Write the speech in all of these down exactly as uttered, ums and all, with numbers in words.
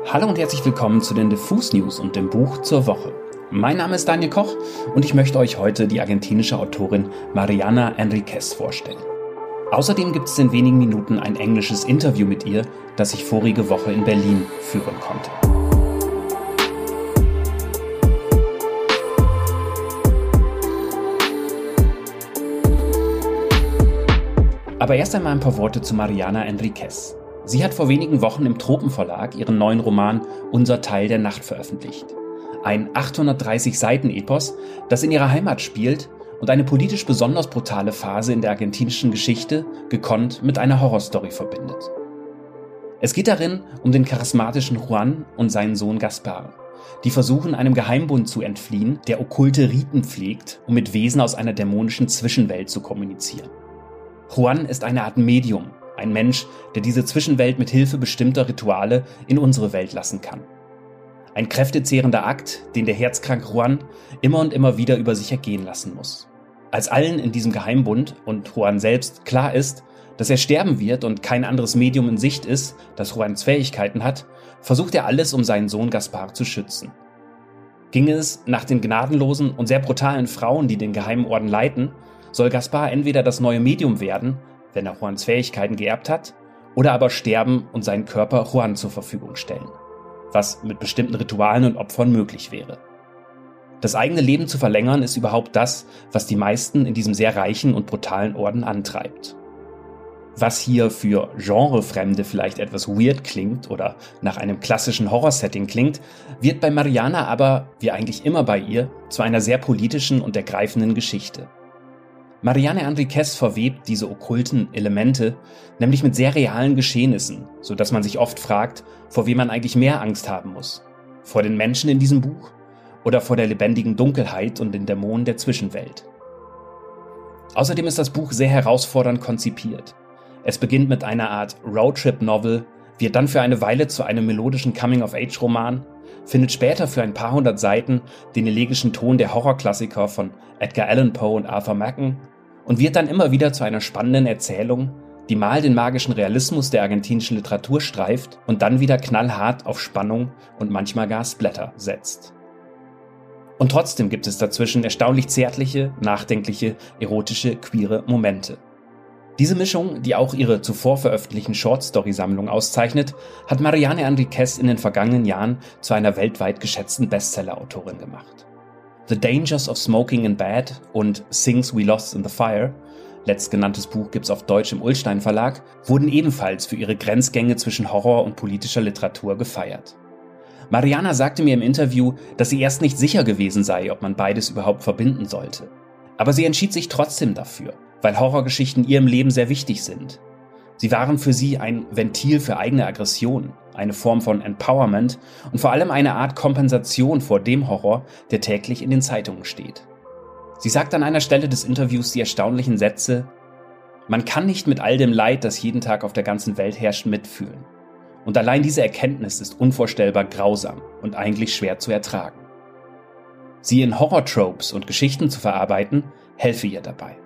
Hallo und herzlich willkommen zu den Diffus News und dem Buch zur Woche. Mein Name ist Daniel Koch und ich möchte euch heute die argentinische Autorin Mariana Enríquez vorstellen. Außerdem gibt es in wenigen Minuten ein englisches Interview mit ihr, das ich vorige Woche in Berlin führen konnte. Aber erst einmal ein paar Worte zu Mariana Enríquez. Sie hat vor wenigen Wochen im Tropenverlag ihren neuen Roman Unser Teil der Nacht veröffentlicht. Ein achthundertdreißig Seiten Epos, das in ihrer Heimat spielt und eine politisch besonders brutale Phase in der argentinischen Geschichte gekonnt mit einer Horrorstory verbindet. Es geht darin um den charismatischen Juan und seinen Sohn Gaspar, die versuchen, einem Geheimbund zu entfliehen, der okkulte Riten pflegt, um mit Wesen aus einer dämonischen Zwischenwelt zu kommunizieren. Juan ist eine Art Medium, ein Mensch, der diese Zwischenwelt mit Hilfe bestimmter Rituale in unsere Welt lassen kann. Ein kräftezehrender Akt, den der herzkranke Juan immer und immer wieder über sich ergehen lassen muss. Als allen in diesem Geheimbund und Juan selbst klar ist, dass er sterben wird und kein anderes Medium in Sicht ist, das Juans Fähigkeiten hat, versucht er alles, um seinen Sohn Gaspar zu schützen. Ginge es nach den gnadenlosen und sehr brutalen Frauen, die den geheimen Orden leiten, soll Gaspar entweder das neue Medium werden, wenn er Juans Fähigkeiten geerbt hat, oder aber sterben und seinen Körper Juan zur Verfügung stellen, was mit bestimmten Ritualen und Opfern möglich wäre. Das eigene Leben zu verlängern ist überhaupt das, was die meisten in diesem sehr reichen und brutalen Orden antreibt. Was hier für Genrefremde vielleicht etwas weird klingt oder nach einem klassischen Horrorsetting klingt, wird bei Mariana aber, wie eigentlich immer bei ihr, zu einer sehr politischen und ergreifenden Geschichte. Mariana Enríquez verwebt diese okkulten Elemente nämlich mit sehr realen Geschehnissen, sodass man sich oft fragt, vor wem man eigentlich mehr Angst haben muss. Vor den Menschen in diesem Buch oder vor der lebendigen Dunkelheit und den Dämonen der Zwischenwelt. Außerdem ist das Buch sehr herausfordernd konzipiert. Es beginnt mit einer Art Roadtrip-Novel, wird dann für eine Weile zu einem melodischen Coming-of-Age-Roman, findet später für ein paar hundert Seiten den elegischen Ton der Horrorklassiker von Edgar Allan Poe und Arthur Machen und wird dann immer wieder zu einer spannenden Erzählung, die mal den magischen Realismus der argentinischen Literatur streift und dann wieder knallhart auf Spannung und manchmal gar Splatter setzt. Und trotzdem gibt es dazwischen erstaunlich zärtliche, nachdenkliche, erotische, queere Momente. Diese Mischung, die auch ihre zuvor veröffentlichten Shortstory-Sammlung auszeichnet, hat Mariana Enríquez in den vergangenen Jahren zu einer weltweit geschätzten Bestseller-Autorin gemacht. The Dangers of Smoking in Bed und Things We Lost in the Fire, letztgenanntes Buch gibt's auf Deutsch im Ullstein Verlag, wurden ebenfalls für ihre Grenzgänge zwischen Horror und politischer Literatur gefeiert. Mariana sagte mir im Interview, dass sie erst nicht sicher gewesen sei, ob man beides überhaupt verbinden sollte. Aber sie entschied sich trotzdem dafür, weil Horrorgeschichten ihrem Leben sehr wichtig sind. Sie waren für sie ein Ventil für eigene Aggression, eine Form von Empowerment und vor allem eine Art Kompensation vor dem Horror, der täglich in den Zeitungen steht. Sie sagt an einer Stelle des Interviews die erstaunlichen Sätze: Man kann nicht mit all dem Leid, das jeden Tag auf der ganzen Welt herrscht, mitfühlen. Und allein diese Erkenntnis ist unvorstellbar grausam und eigentlich schwer zu ertragen. Sie in Horror-Tropes und Geschichten zu verarbeiten, helfe ihr dabei.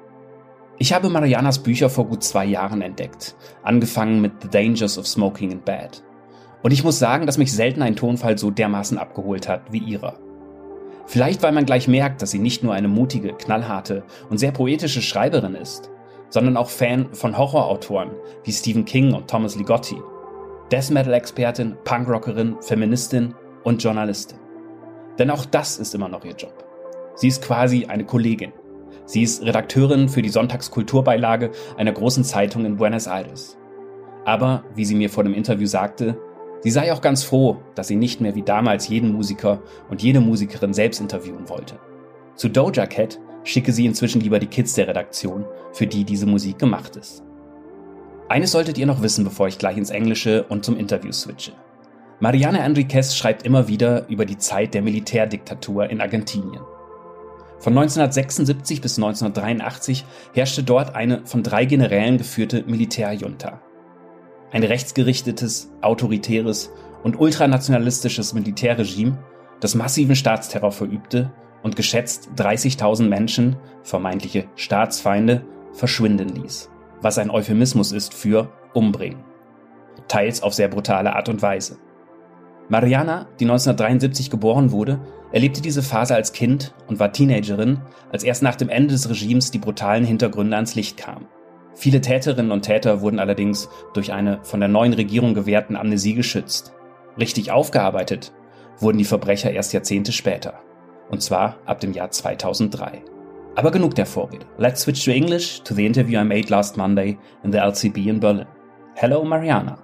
Ich habe Marianas Bücher vor gut zwei Jahren entdeckt, angefangen mit The Dangers of Smoking in Bed. Und ich muss sagen, dass mich selten ein Tonfall so dermaßen abgeholt hat wie ihrer. Vielleicht, weil man gleich merkt, dass sie nicht nur eine mutige, knallharte und sehr poetische Schreiberin ist, sondern auch Fan von Horrorautoren wie Stephen King und Thomas Ligotti, Death-Metal-Expertin, Punkrockerin, Feministin und Journalistin. Denn auch das ist immer noch ihr Job. Sie ist quasi eine Kollegin. Sie ist Redakteurin für die Sonntagskulturbeilage einer großen Zeitung in Buenos Aires. Aber, wie sie mir vor dem Interview sagte, sie sei auch ganz froh, dass sie nicht mehr wie damals jeden Musiker und jede Musikerin selbst interviewen wollte. Zu Doja Cat schicke sie inzwischen lieber die Kids der Redaktion, für die diese Musik gemacht ist. Eines solltet ihr noch wissen, bevor ich gleich ins Englische und zum Interview switche. Mariana Enríquez schreibt immer wieder über die Zeit der Militärdiktatur in Argentinien. Von neunzehnhundertsechsundsiebzig bis neunzehnhundertdreiundachtzig herrschte dort eine von drei Generälen geführte Militärjunta. Ein rechtsgerichtetes, autoritäres und ultranationalistisches Militärregime, das massiven Staatsterror verübte und geschätzt dreißigtausend Menschen, vermeintliche Staatsfeinde, verschwinden ließ, was ein Euphemismus ist für umbringen. Teils auf sehr brutale Art und Weise. Mariana, die neunzehnhundertdreiundsiebzig geboren wurde, erlebte diese Phase als Kind und war Teenagerin, als erst nach dem Ende des Regimes die brutalen Hintergründe ans Licht kamen. Viele Täterinnen und Täter wurden allerdings durch eine von der neuen Regierung gewährten Amnesie geschützt. Richtig aufgearbeitet wurden die Verbrecher erst Jahrzehnte später. Und zwar ab dem Jahr zweitausenddrei. Aber genug der Vorrede. Let's switch to English to the interview I made last Monday in the L C B in Berlin. Hello, Mariana.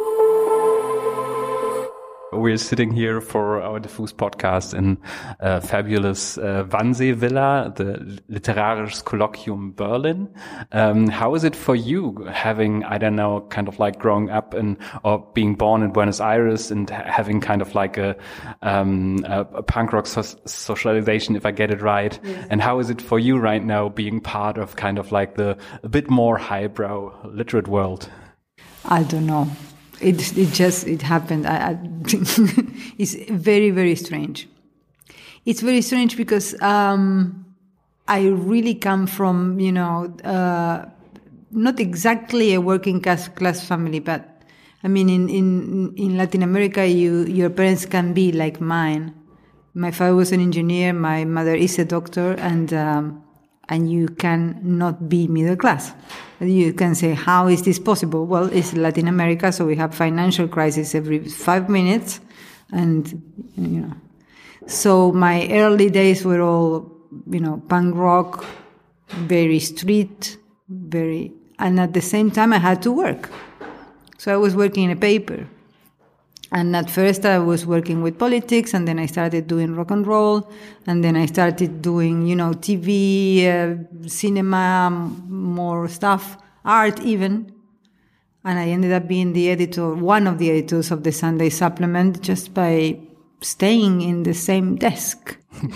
We're sitting here for our Diffus podcast in uh, fabulous uh, Wannsee Villa, the Literarisches Kolloquium Berlin. Um, how is it for you having, I don't know, kind of like growing up in or being born in Buenos Aires and having kind of like a, um, a, a punk rock so- socialization, if I get it right? Yes. And how is it for you right now being part of kind of like the a bit more highbrow literate world? I don't know. It it just it happened. I, I it's very very strange. It's very strange because um, I really come from you know uh, not exactly a working class class family, but I mean in, in in Latin America, you your parents can be like mine. My father was an engineer. My mother is a doctor, and um, and you can not be middle class. You can say, how is this possible? Well, it's Latin America, so we have financial crisis every five minutes. And, you know, so my early days were all, you know, punk rock, very street, very, and at the same time I had to work. So I was working in a paper. And at first I was working with politics, and then I started doing rock and roll, and then I started doing, you know, T V, uh, cinema, more stuff, art even. And I ended up being the editor, one of the editors of the Sunday Supplement, just by staying in the same desk.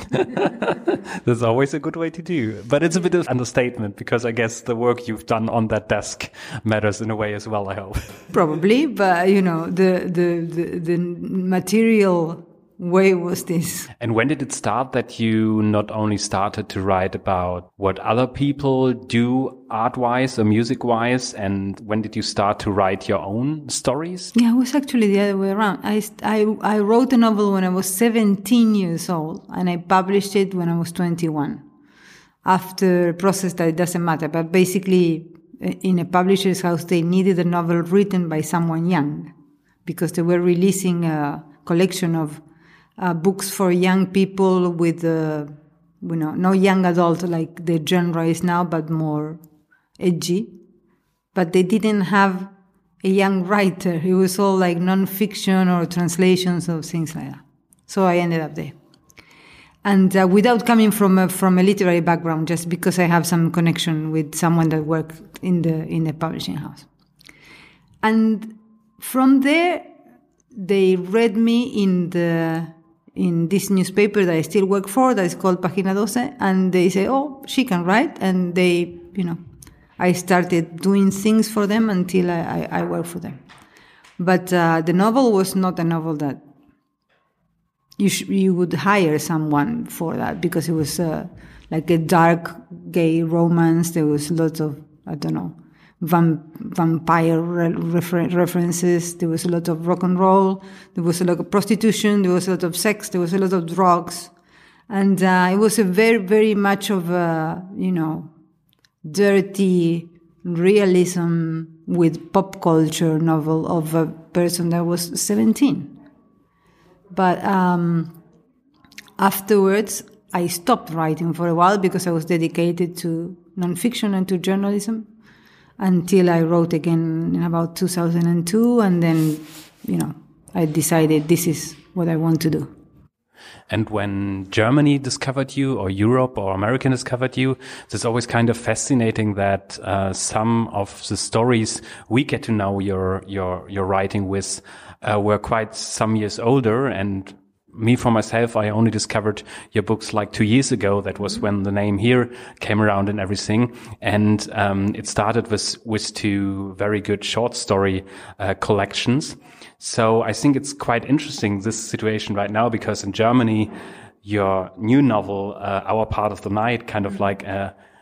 That's always a good way to do. But it's a bit of understatement, because I guess the work you've done on that desk matters in a way as well, I hope. Probably, but, you know, the, the, the, the material way was this. And when did it start that you not only started to write about what other people do art-wise or music-wise, and when did you start to write your own stories? Yeah, it was actually the other way around. I, I, I wrote a novel when I was seventeen years old, and I published it when I was twenty-one. After a process that it doesn't matter, but basically in a publisher's house, they needed a novel written by someone young, because they were releasing a collection of Uh, books for young people with, uh, you know, no young adult like the genre is now, but more edgy. But they didn't have a young writer. It was all like non-fiction or translations of things like that. So I ended up there. And uh, without coming from a, from a literary background, just because I have some connection with someone that worked in the in the publishing house. And from there, they read me in the in this newspaper that I still work for, that is called Página doce, and they say, oh, she can write, and they, you know, I started doing things for them until I, I, I work for them. But uh, the novel was not a novel that you sh- you would hire someone for that, because it was uh, like a dark gay romance. There was lots of, I don't know, Vam- vampire re- refer- references. There was a lot of rock and roll. There was a lot of prostitution. There was a lot of sex. There was a lot of drugs. And uh, it was a very, very much of a, you know, dirty realism with pop culture novel of a person that was seventeen. But um, afterwards, I stopped writing for a while because I was dedicated to nonfiction and to journalism, until I wrote again in about two thousand two, and then, you know, I decided this is what I want to do. And when Germany discovered you, or Europe or America discovered you, it's always kind of fascinating that uh, some of the stories we get to know your your your writing with uh, were quite some years older. And me, for myself, I only discovered your books like two years ago. That was when the name Here came around and everything. And um, it started with with two very good short story uh, collections. So I think it's quite interesting, this situation right now, because in Germany, your new novel, uh, Our Part of the Night, kind of like uh,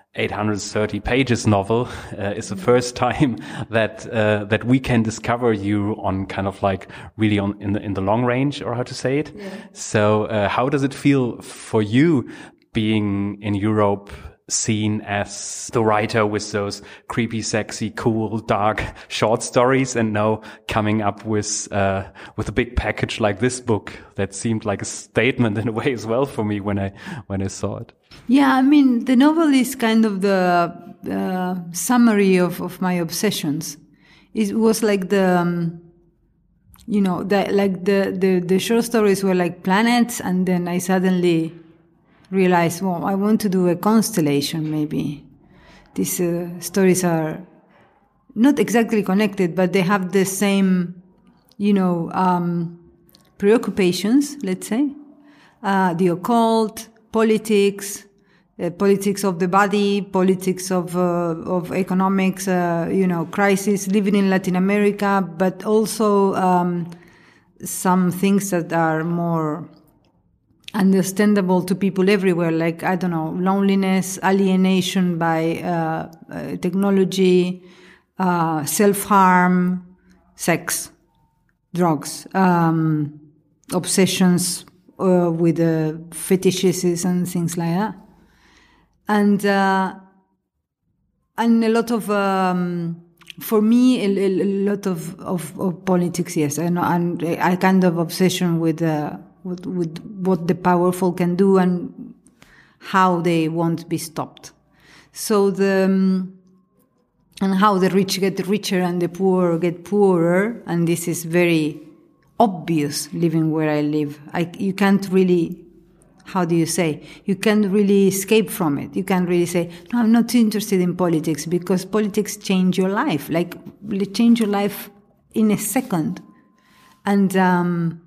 eight hundred thirty pages novel uh, is the first time that uh, that we can discover you on kind of like really on in the in the long range, or how to say it. Yeah. So uh, how does it feel for you being in Europe, seen as the writer with those creepy, sexy, cool, dark short stories, and now coming up with uh with a big package like this book that seemed like a statement in a way as well for me when I when I saw it? Yeah, I mean, the novel is kind of the uh, summary of, of my obsessions. It was like the, um, you know, the, like the, the, the short stories were like planets, and then I suddenly realized, well, I want to do a constellation maybe. These uh, stories are not exactly connected, but they have the same, you know, um, preoccupations, let's say. Uh, the occult, politics, uh, politics of the body, politics of uh, of economics, uh, you know, crisis, living in Latin America, but also um, some things that are more understandable to people everywhere, like, I don't know, loneliness, alienation by uh, uh, technology, uh, self-harm, sex, drugs, um, obsessions uh, with uh, fetishes and things like that. And uh, and a lot of, um, for me, a, a lot of, of, of politics, yes, and, and a kind of obsession with uh, With, with what the powerful can do and how they won't be stopped. So the um, and how the rich get richer and the poor get poorer, and this is very obvious living where I live. I, you can't really, how do you say? You can't really escape from it. You can't really say, no, I'm not interested in politics, because politics change your life, like change your life in a second, and. Um,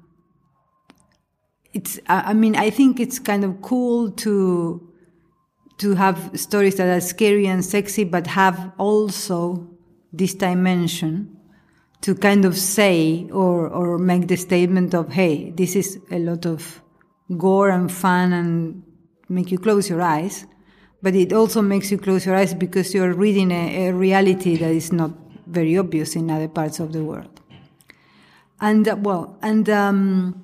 It's, I mean, I think it's kind of cool to, to have stories that are scary and sexy, but have also this dimension to kind of say or, or make the statement of, hey, this is a lot of gore and fun and make you close your eyes. But it also makes you close your eyes because you're reading a, a reality that is not very obvious in other parts of the world. And, uh, well, and, um,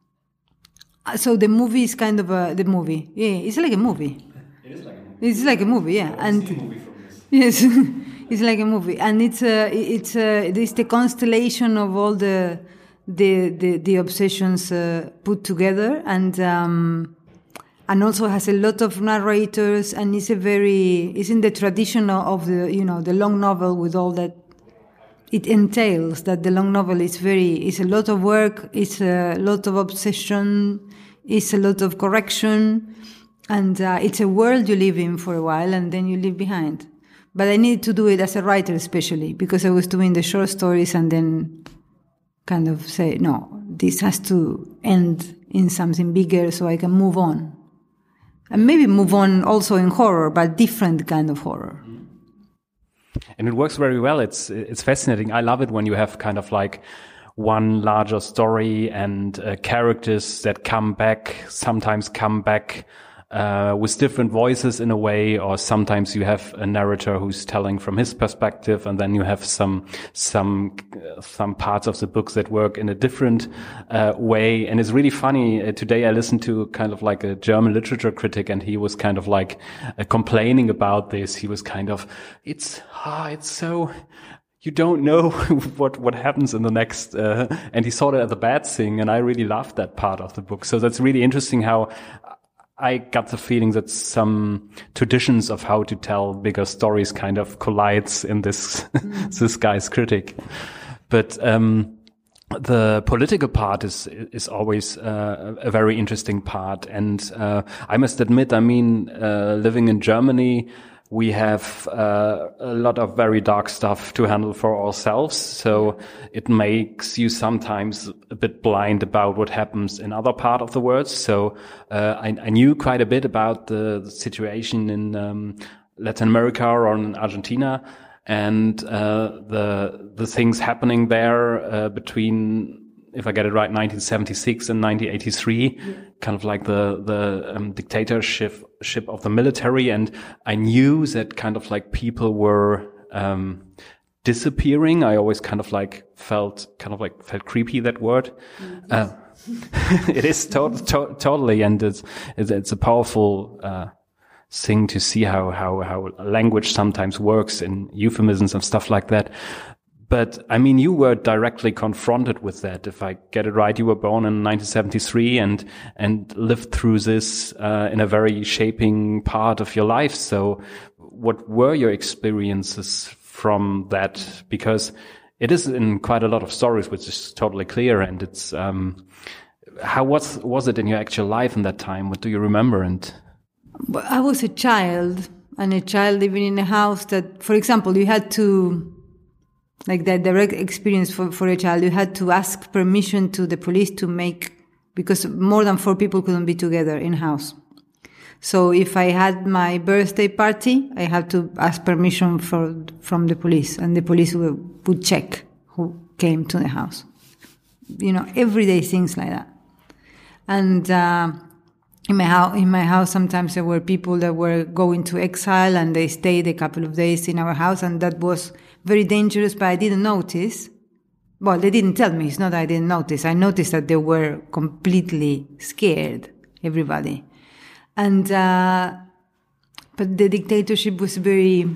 so the movie is kind of a, the movie. Yeah, it's like a movie. It is like a movie. It's like a movie, yeah. I've and seen a movie from this. Yes, it's like a movie, and it's a, it's a, it's the constellation of all the the the, the obsessions uh, put together, and um, and also has a lot of narrators, and it's a very it's in the tradition of the you know the long novel with all that it entails. That the long novel is very it's a lot of work, it's a lot of obsession, it's a lot of correction, and uh, it's a world you live in for a while, and then you leave behind. But I needed to do it as a writer, especially because I was doing the short stories, and then kind of say, no, this has to end in something bigger so I can move on. And maybe move on also in horror, but different kind of horror. And it works very well. It's it's fascinating. I love it when you have kind of like one larger story and uh, characters that come back, sometimes come back uh, with different voices in a way, or sometimes you have a narrator who's telling from his perspective, and then you have some some uh, some parts of the books that work in a different uh, way. And it's really funny. Uh, today I listened to kind of like a German literature critic, and he was kind of like uh, complaining about this. He was kind of, it's ah, it's so. You don't know what, what happens in the next, uh, and he saw that as a bad thing, and I really loved that part of the book. So that's really interesting how I got the feeling that some traditions of how to tell bigger stories kind of collides in this, mm. this guy's critic. But, um, the political part is, is always, uh, a very interesting part. And, uh, I must admit, I mean, uh, living in Germany, we have uh, a lot of very dark stuff to handle for ourselves, so it makes you sometimes a bit blind about what happens in other part of the world. So uh, I, I knew quite a bit about the, the situation in um, Latin America or in Argentina, and uh, the the things happening there uh, between if I get it right, nineteen seventy-six and nineteen eighty-three, yeah. kind of like the, the um, dictatorship ship of the military. And I knew that kind of like people were, um, disappearing. I always kind of like felt, kind of like felt creepy, that word. Mm-hmm. Uh, it is to- to- totally. And it's, it's, it's a powerful, uh, thing to see how, how, how language sometimes works in euphemisms and stuff like that. But I mean, you were directly confronted with that. If I get it right, you were born in nineteen seventy-three and, and lived through this, uh, in a very shaping part of your life. So what were your experiences from that? Because it is in quite a lot of stories, which is totally clear. And it's, um, how was, was it in your actual life in that time? What do you remember? And I was a child, and a child living in a house that, for example, you had to, like that direct experience for, for a child, you had to ask permission to the police to make, because more than four people couldn't be together in house. So if I had my birthday party, I had to ask permission for, from the police, and the police would, would check who came to the house. You know, everyday things like that. And, uh, in my house, in my house, sometimes there were people that were going to exile and they stayed a couple of days in our house, and that was very dangerous, but I didn't notice. Well, they didn't tell me. It's not that I didn't notice. I noticed that they were completely scared, everybody. And, uh, but the dictatorship was very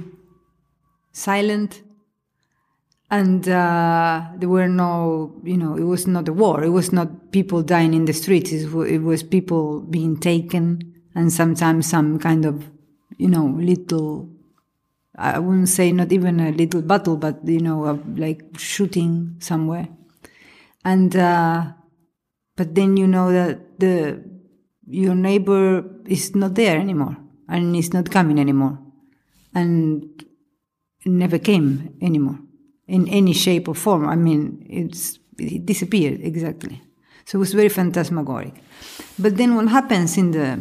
silent. And, uh, there were no, you know, it was not a war. It was not people dying in the streets. It was people being taken, and sometimes some kind of, you know, little, I wouldn't say not even a little battle, but, you know, uh, like shooting somewhere. And, uh, but then you know that the, your neighbor is not there anymore, and is not coming anymore, and never came anymore in any shape or form. I mean, it's, it disappeared exactly. So it was very phantasmagoric. But then what happens in the,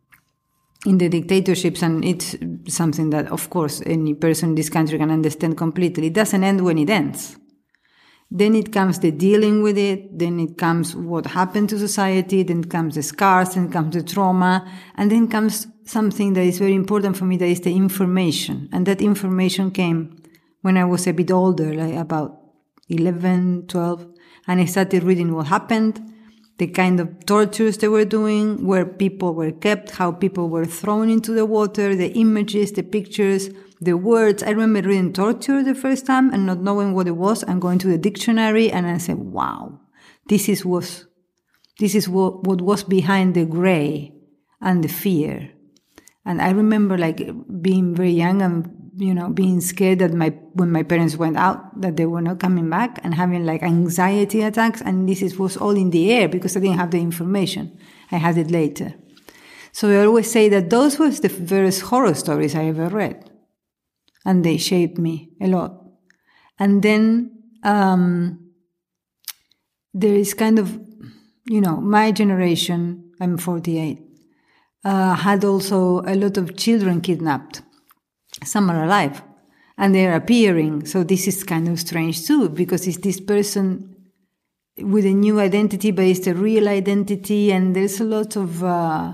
in the dictatorships, and it's something that, of course, any person in this country can understand completely, it doesn't end when it ends. Then it comes the dealing with it, then it comes what happened to society, then comes the scars, then comes the trauma, and then comes something that is very important for me, that is the information. And that information came when I was a bit older, like about eleven, twelve, and I started reading what happened, the kind of tortures they were doing, where people were kept, how people were thrown into the water, the images, the pictures, the words. I remember reading torture the first time and not knowing what it was, and going to the dictionary, and I said, wow, this is what, this is what, what was behind the gray and the fear. And I remember like being very young and, you know, being scared that my, when my parents went out, that they were not coming back, and having like anxiety attacks. And this is, was all in the air because I didn't have the information. I had it later. So I always say that those were the first horror stories I ever read. And they shaped me a lot. And then, um, there is kind of, you know, my generation, I'm forty-eight, uh, had also a lot of children kidnapped. Some are alive, and they're appearing. So this is kind of strange too, because it's this person with a new identity, but it's a real identity. And there's a lot of, uh,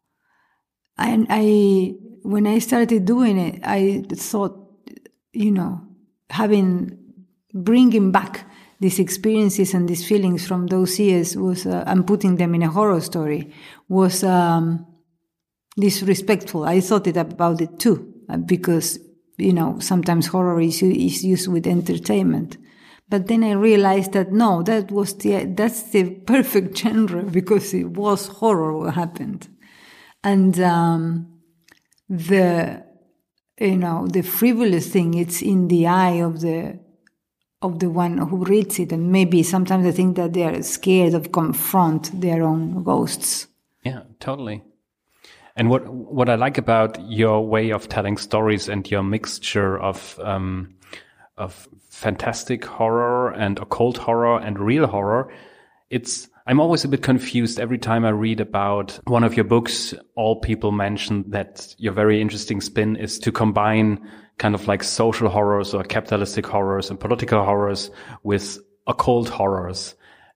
I, I, when I started doing it, I thought, you know, having, bringing back these experiences and these feelings from those years was, uh, and putting them in a horror story was, um, disrespectful. I thought it about it too. Because, you know, sometimes horror is, is used with entertainment. But then I realized that no, that was the, that's the perfect genre, because it was horror what happened. And, um, the, you know, the frivolous thing, it's in the eye of the, of the one who reads it. And maybe sometimes I think that they are scared of confront their own ghosts. Yeah, totally. And what what I like about your way of telling stories and your mixture of um, of fantastic horror and occult horror and real horror, it's I'm always a bit confused every time I read about one of your books. All people mention that your very interesting spin is to combine kind of like social horrors or capitalistic horrors and political horrors with occult horrors.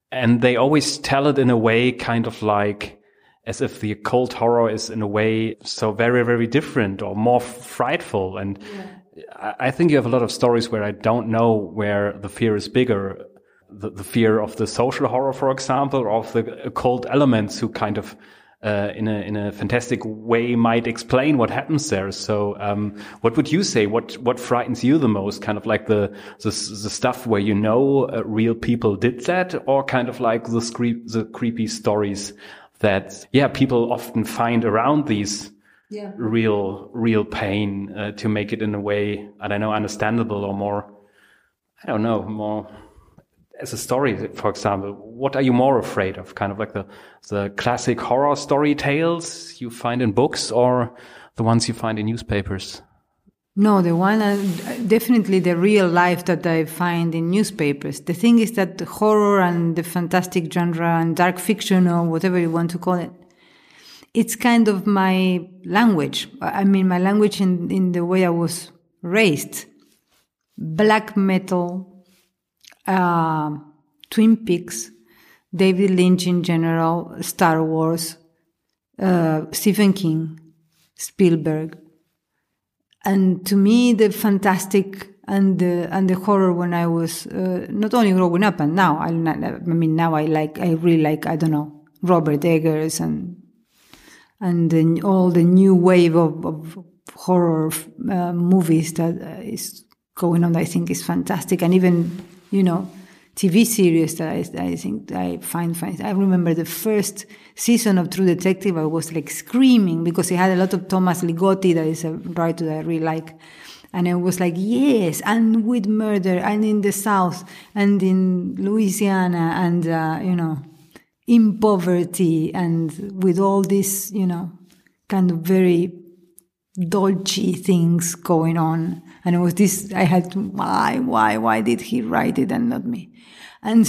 and they always tell it in a way kind of like as if the occult horror is in a way so very, very different or more frightful. And yeah. I, I think you have a lot of stories where I don't know where the fear is bigger. The, the fear of the social horror, for example, or of the occult elements who kind of Uh, in a in a fantastic way might explain what happens there. So, um, what would you say? What what frightens you the most? Kind of like the the, the stuff where you know uh, real people did that, or kind of like the scre- the creepy stories that yeah people often find around these yeah. real real pain uh, to make it in a way I don't know understandable or more I don't know more. As a story, for example, what are you more afraid of? Kind of like the the classic horror story tales you find in books, or the ones you find in newspapers? No, the one, uh, definitely the real life that I find in newspapers. The thing is that the horror and the fantastic genre and dark fiction, or whatever you want to call it, it's kind of my language. I mean, my language in, in the way I was raised. Black metal, Uh, Twin Peaks, David Lynch in general, Star Wars, uh, Stephen King, Spielberg. And to me, the fantastic and the, and the horror when I was, uh, not only growing up and now, I, I mean, now I like, I really like, I don't know, Robert Eggers and, and the, all the new wave of, of horror uh, movies that uh, is going on, I think is fantastic. And even, you know, T V series that I, I think I find fine. I remember the first season of True Detective, I was like screaming because it had a lot of Thomas Ligotti, that is a writer that I really like. And I was like, yes, and with murder, and in the South, and in Louisiana, and, uh, you know, in poverty, and with all this, you know, kind of very dolce things going on. And it was this, I had to, why, why, why did he write it and not me? And,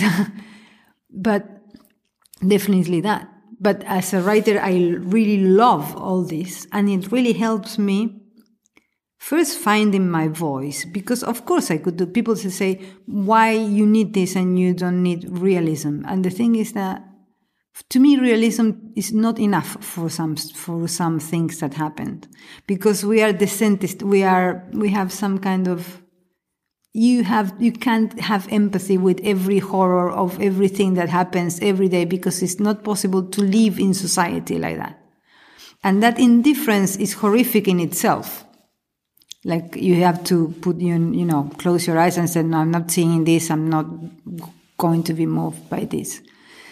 but definitely that. But as a writer, I really love all this. And it really helps me first finding my voice. Because of course I could do, people say, why you need this and you don't need realism. And the thing is that to me, realism is not enough for some for some things that happened, because we are decentist. We are we have some kind of you have you can't have empathy with every horror of everything that happens every day, because it's not possible to live in society like that, and that indifference is horrific in itself. Like you have to put you you know close your eyes and say, no, I'm not seeing this. I'm not going to be moved by this.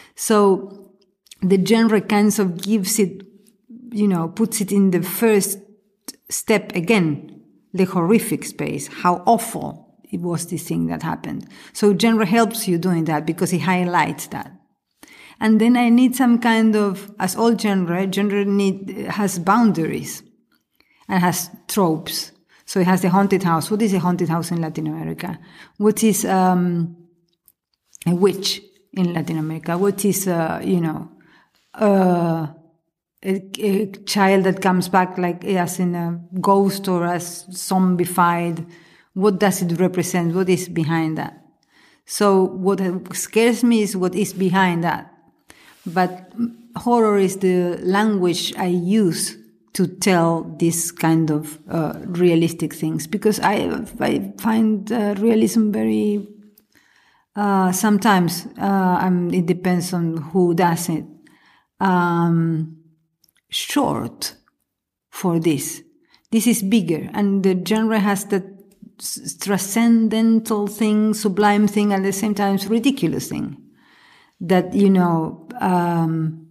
So the genre kind of gives it, you know, puts it in the first step again, the horrific space, how awful it was, this thing that happened. So genre helps you doing that because it highlights that. And then I need some kind of, as all genre, genre need, has boundaries and has tropes. So it has the haunted house. What is a haunted house in Latin America? What is um, a witch in Latin America? What is, uh, you know, Uh, a, a child that comes back like as in a ghost or as zombified? What does it represent? What is behind that? So what scares me is what is behind that. But horror is the language I use to tell this kind of uh, realistic things, because I I find uh, realism very uh, sometimes uh, um, it depends on who does it. Um, short for this. This is bigger, and the genre has that transcendental thing, sublime thing, at the same time ridiculous thing. That, you know, um,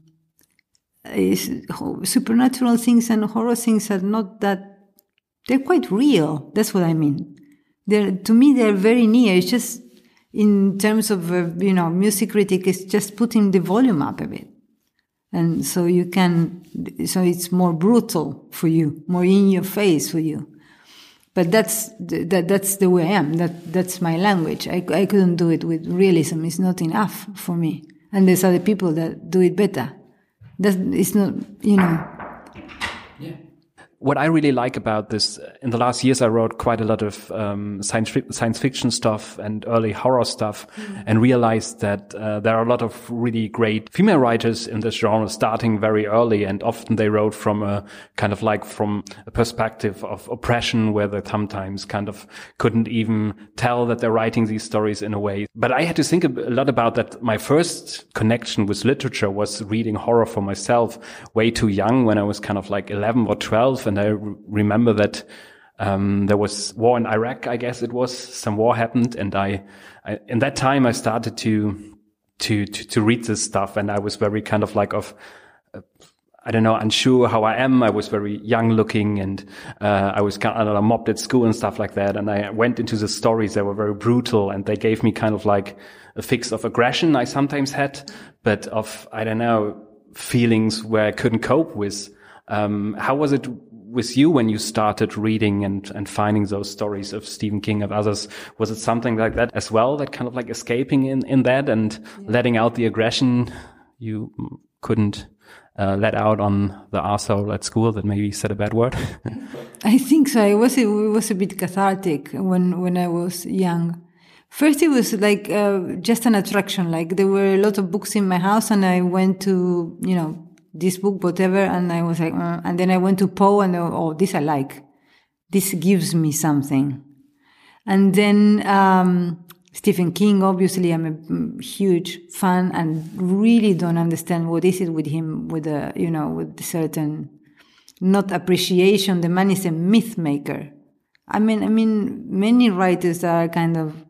is supernatural things and horror things are not that, they're quite real. That's what I mean. They're, to me, they're very near. It's just, in terms of, uh, you know, music critic, it's just putting the volume up a bit. And so you can, so it's more brutal for you, more in your face for you. But that's, that, that's the way I am. That, that's my language. I, I couldn't do it with realism. It's not enough for me. And there's other people that do it better. That's, it's not, you know. Yeah. what I really like about this, in the last years, I wrote quite a lot of um, science science fiction stuff and early horror stuff, mm. and realized that uh, there are a lot of really great female writers in this genre, starting very early, and often they wrote from a kind of like from a perspective of oppression, where they sometimes kind of couldn't even tell that they're writing these stories in a way. But I had to think a lot about that. My first connection with literature was reading horror for myself, way too young, when I was kind of like eleven or twelve. And I re- remember that um there was war in Iraq, I guess it was. Some war happened, and I, I in that time I started to, to to to read this stuff, and I was very kind of like of uh, I don't know, unsure how I am. I was very young looking, and uh I was kind of mobbed at school and stuff like that. And I went into the stories that were very brutal, and they gave me kind of like a fix of aggression I sometimes had, but of, I don't know, feelings where I couldn't cope with. Um, how was it with you when you started reading and, and finding those stories of Stephen King, of others? Was it something like that as well, that kind of like escaping in, in that and yeah. letting out the aggression you couldn't uh, let out on the arsehole at school that maybe said a bad word? I think so. It was, it was a bit cathartic when, when I was young. First, it was like uh, just an attraction. Like there were a lot of books in my house, and I went to, you know, this book, whatever, and I was like, uh, and then I went to Poe, and uh, oh, this I like. This gives me something. And then um Stephen King, obviously, I'm a huge fan, and really don't understand what is it with him, with a, you know, with certain not appreciation. The man is a myth maker. I mean, I mean, many writers that are kind of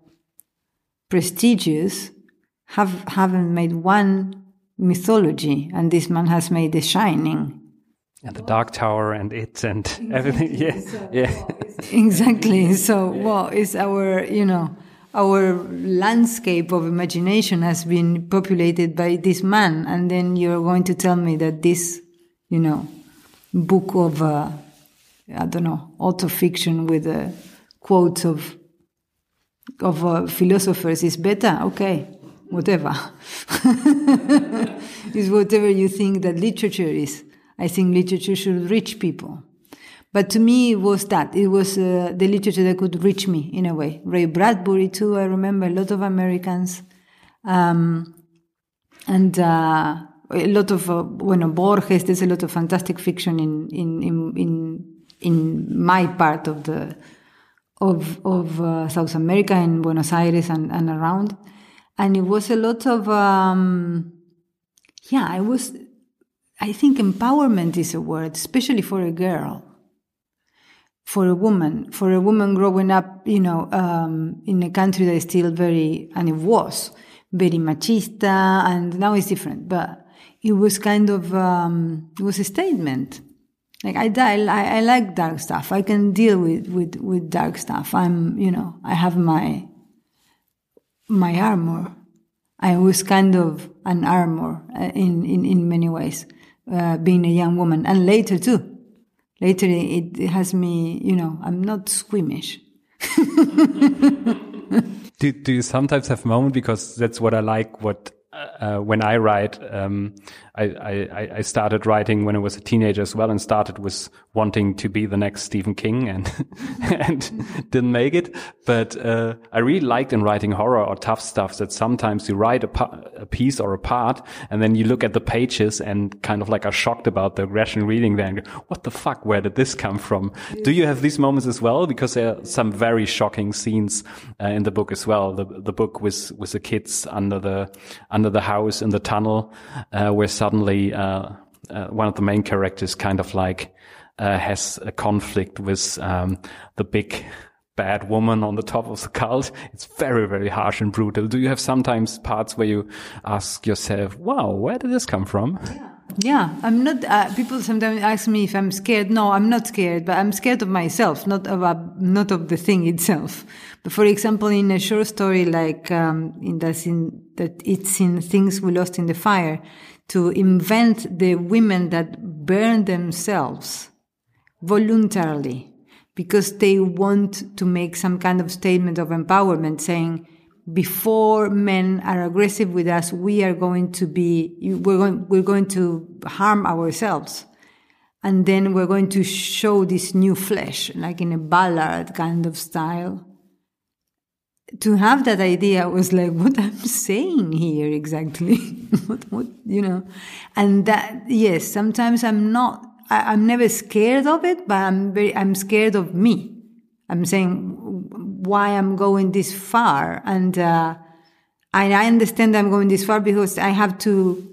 prestigious have haven't made one mythology, and this man has made The Shining and The Dark Tower and It and exactly. everything. Yeah, so, yeah, well, exactly. So, well, it's our, you know, our landscape of imagination has been populated by this man, and then you're going to tell me that this, you know, book of uh, I don't know, autofiction with uh, quotes of of uh, philosophers is better? Okay. Whatever. Is whatever you think that literature is. I think literature should reach people. But to me, it was that. It was uh, the literature that could reach me in a way. Ray Bradbury, too. I remember a lot of Americans. Um, and uh, a lot of, uh, bueno, Borges, there's a lot of fantastic fiction in, in, in, in, in my part of the, of, of uh, South America, in Buenos Aires and, and around. And it was a lot of, um, yeah, I was, I think empowerment is a word, especially for a girl, for a woman, for a woman growing up, you know, um, in a country that is still very, and it was very machista, and now it's different, but it was kind of, um, it was a statement. Like, I, I, I like dark stuff. I can deal with, with, with dark stuff. I'm, you know, I have my, my armor. I was kind of an armor in, in, in many ways, uh, being a young woman. And later too. Later it, it has me, you know, I'm not squeamish. do, do you sometimes have moments, because that's what I like, what, uh, when I write, um, I, I, I started writing when I was a teenager as well, and started with wanting to be the next Stephen King, and and didn't make it. But uh, I really liked in writing horror or tough stuff that sometimes you write a, pa- a piece or a part, and then you look at the pages and kind of like are shocked about the aggression reading there and go, what the fuck, where did this come from? Yeah. Do you have these moments as well? Because there are some very shocking scenes uh, in the book as well. The the book with with the kids under the under the house in the tunnel, uh, where some Suddenly, uh, uh, one of the main characters kind of like uh, has a conflict with um, the big bad woman on the top of the cult. It's very, very harsh and brutal. Do you have sometimes parts where you ask yourself, wow, where did this come from? Yeah, yeah. I'm not, uh, people sometimes ask me if I'm scared. No, I'm not scared, but I'm scared of myself, not of, uh, not of the thing itself. But for example, in a short story like um, in the scene that it's in Things We Lost in the Fire, to invent the women that burn themselves voluntarily because they want to make some kind of statement of empowerment, saying, before men are aggressive with us, we are going to be, we're going, we're going to harm ourselves. And then we're going to show this new flesh, like in a ballad kind of style. To have that idea was like, what I'm saying here exactly? what, what, you know? And that, yes, sometimes I'm not, I, I'm never scared of it, but I'm very, I'm scared of me. I'm saying why I'm going this far. And, uh, I, I understand I'm going this far because I have to,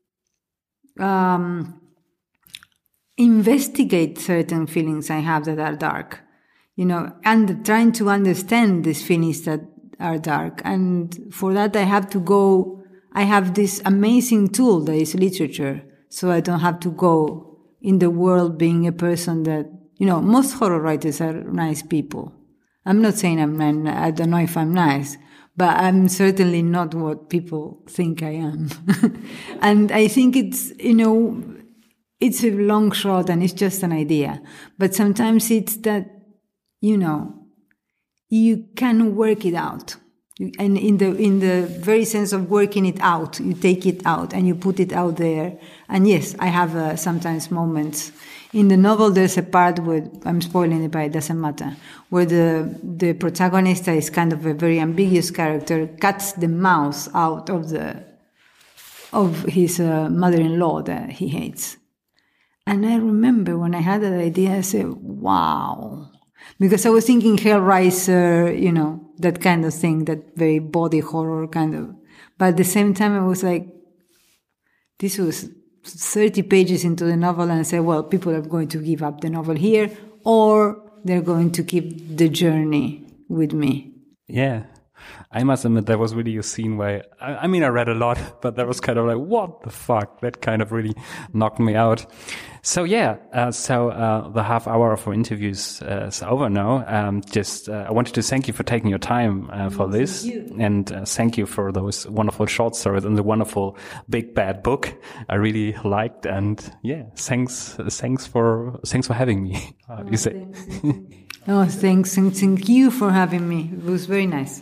um, investigate certain feelings I have that are dark, you know, and trying to understand these feelings that are dark. And for that, I have to go, I have this amazing tool that is literature. So I don't have to go in the world being a person that, you know, most horror writers are nice people. I'm not saying I'm, I don't know if I'm nice, but I'm certainly not what people think I am. And I think it's, you know, it's a long shot and it's just an idea. But sometimes it's that, you know, you can work it out. And in the, in the very sense of working it out, you take it out and you put it out there. And yes, I have uh, sometimes moments. In the novel, there's a part where, I'm spoiling it, but it doesn't matter, where the, the protagonist is kind of a very ambiguous character, cuts the mouse out of the, of his uh, mother-in-law that he hates. And I remember when I had that idea, I said, wow. Because I was thinking Hellraiser, you know, that kind of thing, that very body horror kind of. But at the same time, I was like, this was thirty pages into the novel, and I said, well, people are going to give up the novel here, or they're going to keep the journey with me. Yeah. I must admit, there was really a scene where, I, I mean, I read a lot, but that was kind of like, what the fuck? That kind of really knocked me out. So yeah, uh, so uh, the half hour of our interviews uh, is over now. Um, just, uh, I wanted to thank you for taking your time uh, for this. And uh, thank you for those wonderful short stories and the wonderful big bad book I really liked. And yeah, thanks, thanks for, thanks for having me. How do you say? Oh, thanks, and thank you for having me. It was very nice.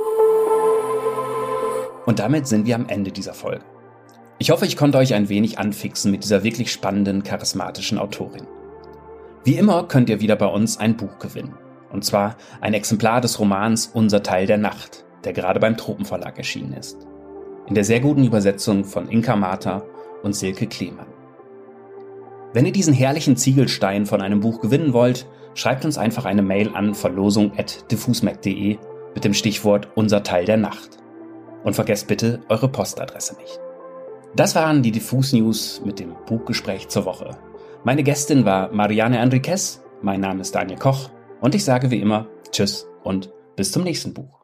Und damit sind wir am Ende dieser Folge. Ich hoffe, ich konnte euch ein wenig anfixen mit dieser wirklich spannenden, charismatischen Autorin. Wie immer könnt ihr wieder bei uns ein Buch gewinnen. Und zwar ein Exemplar des Romans Unser Teil der Nacht, der gerade beim Tropenverlag erschienen ist. In der sehr guten Übersetzung von Inka Marta und Silke Klemann. Wenn ihr diesen herrlichen Ziegelstein von einem Buch gewinnen wollt, schreibt uns einfach eine Mail an verlosung at diffusmac punkt de mit dem Stichwort Unser Teil der Nacht. Und vergesst bitte eure Postadresse nicht. Das waren die Diffus News mit dem Buchgespräch zur Woche. Meine Gästin war Mariana Enriquez, mein Name ist Daniel Koch und ich sage wie immer Tschüss und bis zum nächsten Buch.